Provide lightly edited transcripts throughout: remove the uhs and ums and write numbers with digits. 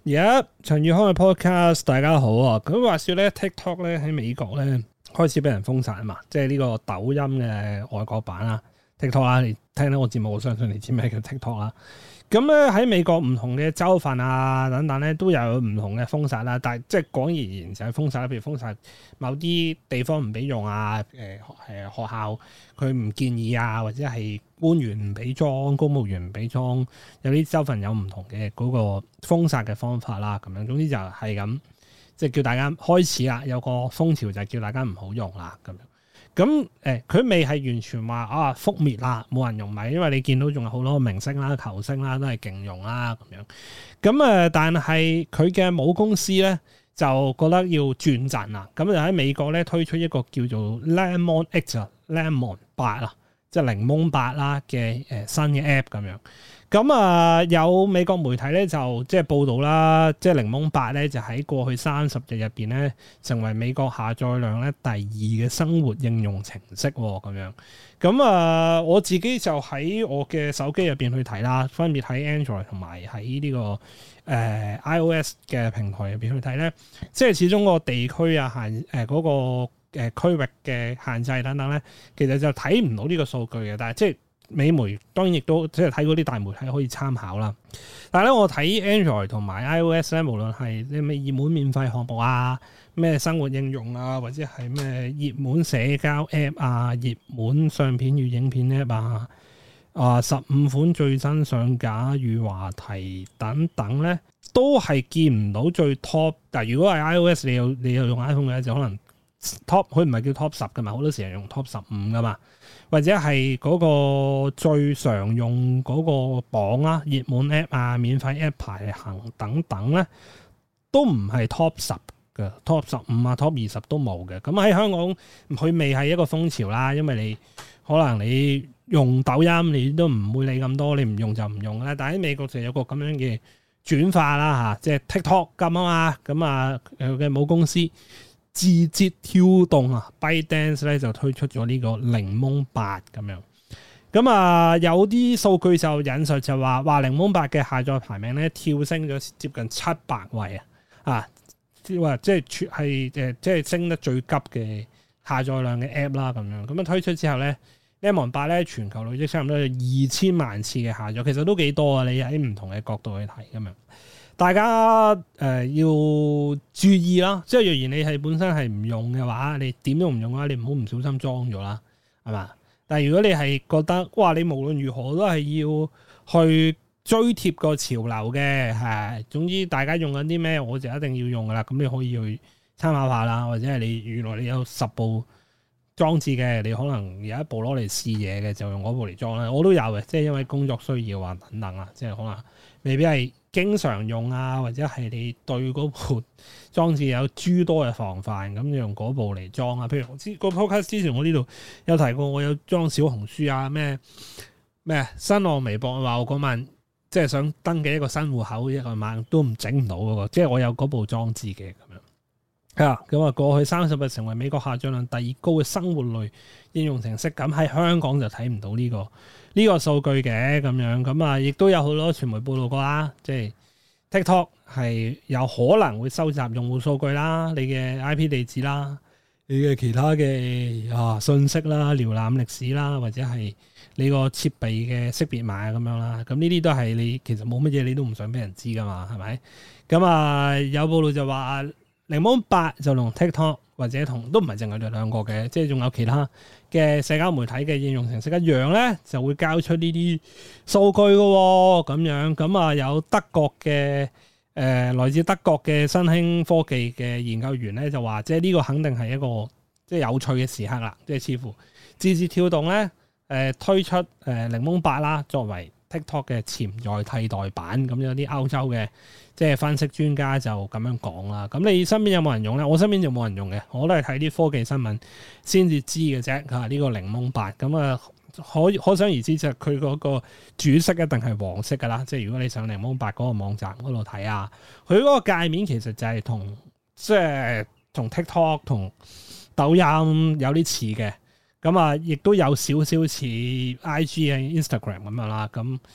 而家陳宇康嘅 podcast，大家好啊！咁話說咧 ，TikTok 咧喺美國咧開始俾人封殺啊嘛，即係呢個抖音嘅外國版啦 ，TikTok 啦，你聽到我節目，我相信你知咩叫 TikTok 啦。咁咧喺美國唔同嘅州份啊等等咧都有唔同嘅封殺啦，但係即係講而言就係封殺啦，譬如封殺某啲地方唔俾用啊，學校佢唔建議啊，或者係官員唔俾裝，公務員唔俾裝，有啲州份有唔同嘅嗰個封殺嘅方法啦，咁樣總之就係咁，即係叫大家開始啦，有個風潮就係叫大家唔好用啦，咁樣。咁佢未係完全話覆滅啦，冇人用咪，因為你見到仲有好多明星啦、球星啦都係勁用啦咁樣。咁但係佢嘅母公司咧就覺得要轉陣啦，咁就喺美國咧推出一個叫做 Lemon 8啊，即係檸檬8啦嘅新嘅 app 咁樣。咁有美國媒體咧就即係報導啦，即係檸檬8咧就喺過去30日入邊咧成為美國下載量咧第2嘅生活應用程式喎咁樣。咁我自己就喺我嘅手機入邊去睇啦，分別喺 Android 同埋喺呢個iOS 嘅平台入邊去睇咧，即係始終個地區啊嗰個區域嘅限制等等咧，其實就睇唔到呢個數據嘅，但係即係。美媒當然亦都即係睇嗰啲大媒體可以參考啦，但係咧我睇 Android 同埋 iOS 咧，無論係啲咩熱門免費項目啊、咩生活應用啊，或者係咩熱門社交 App 啊、熱門相片與影片 App 啊、15款最新上架與話題等等咧，都係見唔到最 top。但係如果係 iOS，你又用 iPhone 嘅就可能 top， 佢唔係叫 top 10㗎嘛，好多時係用 top 15㗎嘛。或者係嗰個最常用嗰個榜啦、熱門 App 啊、免費 App 排行等等咧，都唔係 top 10嘅 ，top 15啊、top 20都冇嘅。咁喺香港佢未係一個風潮啦，因為你可能你用抖音你都唔會理咁多，你唔用就唔用啦。但喺美國就有個咁樣嘅轉化啦嚇，即係 TikTok 咁啊嘛，咁佢嘅母公司。字節跳動啊 ，ByteDance 咧就推出咗呢個檸檬8咁樣。咁有啲數據就引述就話檸檬8嘅下載排名咧跳升咗接近700位即係升得最急嘅下載量嘅 app 啦咁樣。咁推出之後咧 ，Lemon 8咧全球累積差唔多有2000萬次嘅下載，其實都幾多啊！你喺唔同嘅角度去睇咁樣。大家要注意啦，即係若然你係本身係唔用嘅話，你點都唔用嘅話，你唔好唔小心裝咗啦，係嘛？但係如果你係覺得哇，你無論如何都係要去追貼個潮流嘅，總之大家用緊啲咩，我就一定要用噶啦。咁你可以去參考下啦，或者係你原來你有10部裝置嘅，你可能有一部攞嚟試嘢嘅，就用嗰部嚟裝啦。我都有嘅，即係因為工作需要啊等等啊，即係可能未必係經常用啊，或者係你對嗰部裝置有諸多嘅防範，咁用嗰部嚟裝啊。譬如個 podcast 之前我呢度有提過，我有裝小紅書啊，咩新浪微博話我嗰晚即係想登記一個新戶口，一個晚都整唔到嗰個，即係我有嗰部裝置嘅咁樣。咁過去30日成為美國下載量第2高嘅生活類應用程式，咁喺香港就睇唔到呢個數據嘅咁樣，咁亦都有好多傳媒報道過啦，即係 TikTok 係有可能會收集用戶數據啦、你嘅 IP 地址啦、你嘅其他嘅信息啦、瀏覽歷史啦，或者係你個設備嘅識別碼咁樣啦，咁呢啲都係你其實冇乜嘢你都唔想俾人知噶嘛，係咪？咁有報道就話檸檬8就同 TikTok 或者都唔係淨係佢兩個嘅，即係仲有其他嘅社交媒體嘅應用程式一樣咧，就會交出呢啲數據嘅喎，咁樣咁有德國嘅來自德國嘅新興科技嘅研究員咧就話，即係呢個肯定係一個即係有趣嘅時刻啦，即係似乎字節跳動咧推出檸檬8啦，作為 TikTok 嘅潛在替代版，咁有啲歐洲嘅即係分析專家就咁樣講啦。咁你身邊有冇人用咧？我身邊就冇人用嘅，我都係睇啲科技新聞先至知嘅啫。呢個檸檬8咁可想而知，就佢嗰個主色一定係黃色噶啦。即係如果你上檸檬8嗰個網站嗰度睇啊，佢嗰個界面其實就係同 TikTok 同抖音有啲似嘅。咁亦都有少少似 IG 啊 Instagram 咁樣啦。咁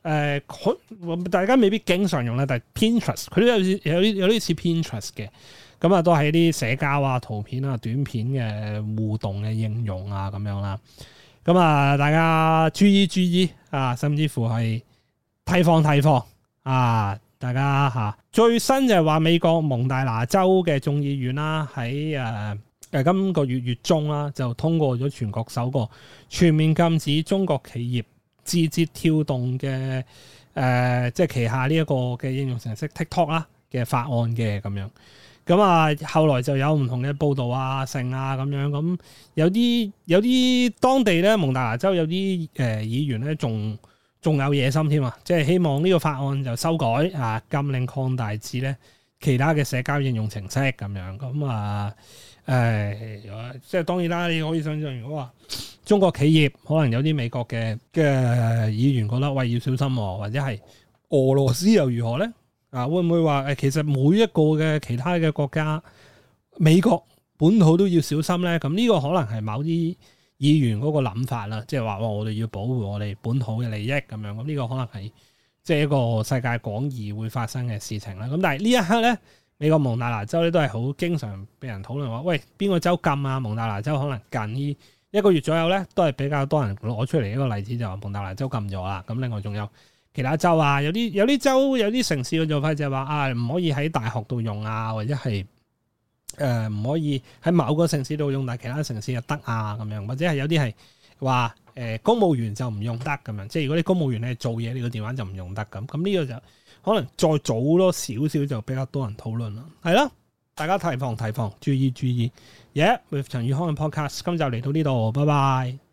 大家未必經常用啦，但係 Pinterest 佢都有啲似 Pinterest 嘅，咁啊都係啲社交啊、圖片啊、短片嘅互動嘅應用啊咁樣啦。咁啊，大家注意啊，甚至乎係提防啊！大家嚇最新就係話美國蒙大拿州嘅眾議院啦，喺今個月中啦，就通過咗全國首個全面禁止中國企業字節跳動嘅即係旗下呢一個嘅應用程式 TikTok 啦嘅法案嘅咁樣。咁啊，後來就有唔同嘅報導啊、成啊咁樣。咁有啲當地咧，蒙大拿州有啲議員咧，仲有野心添啊！即係希望呢個法案就修改啊，禁令擴大至咧其他嘅社交應用程式咁樣。咁啊即係當然啦，你可以想象，如果話中國企業可能有啲美國嘅議員覺得喂，要小心喎，或者係俄羅斯又如何咧？啊，會唔會話其實每一個嘅其他嘅國家，美國本土都要小心咧？咁呢個可能係某啲議員嗰個諗法啦，即係話我哋要保護我哋本土嘅利益咁樣。咁呢個可能係即係一個世界廣義會發生嘅事情啦。咁但係呢一刻咧，美國蒙大拿州咧都係好經常俾人討論話，喂，邊個州禁啊？蒙大拿州可能近呢1個月左右咧，都係比較多人攞出嚟一個例子，就話蒙大拿州禁咗啦。咁另外仲有其他州啊，有啲州有啲城市嘅做法就係話啊，唔可以喺大學度用啊，或者係唔可以喺某個城市度用，但係其他城市就得啊咁樣，或者係有啲係話公務員就唔用得咁樣，即係如果你公務員你係做嘢，你個電話就唔用得咁。咁呢個就可能再早多少少就比較多人討論啦。係啦，大家提防，注意。Yeah，with 陳宇康嘅 podcast，今集嚟到呢度，拜拜。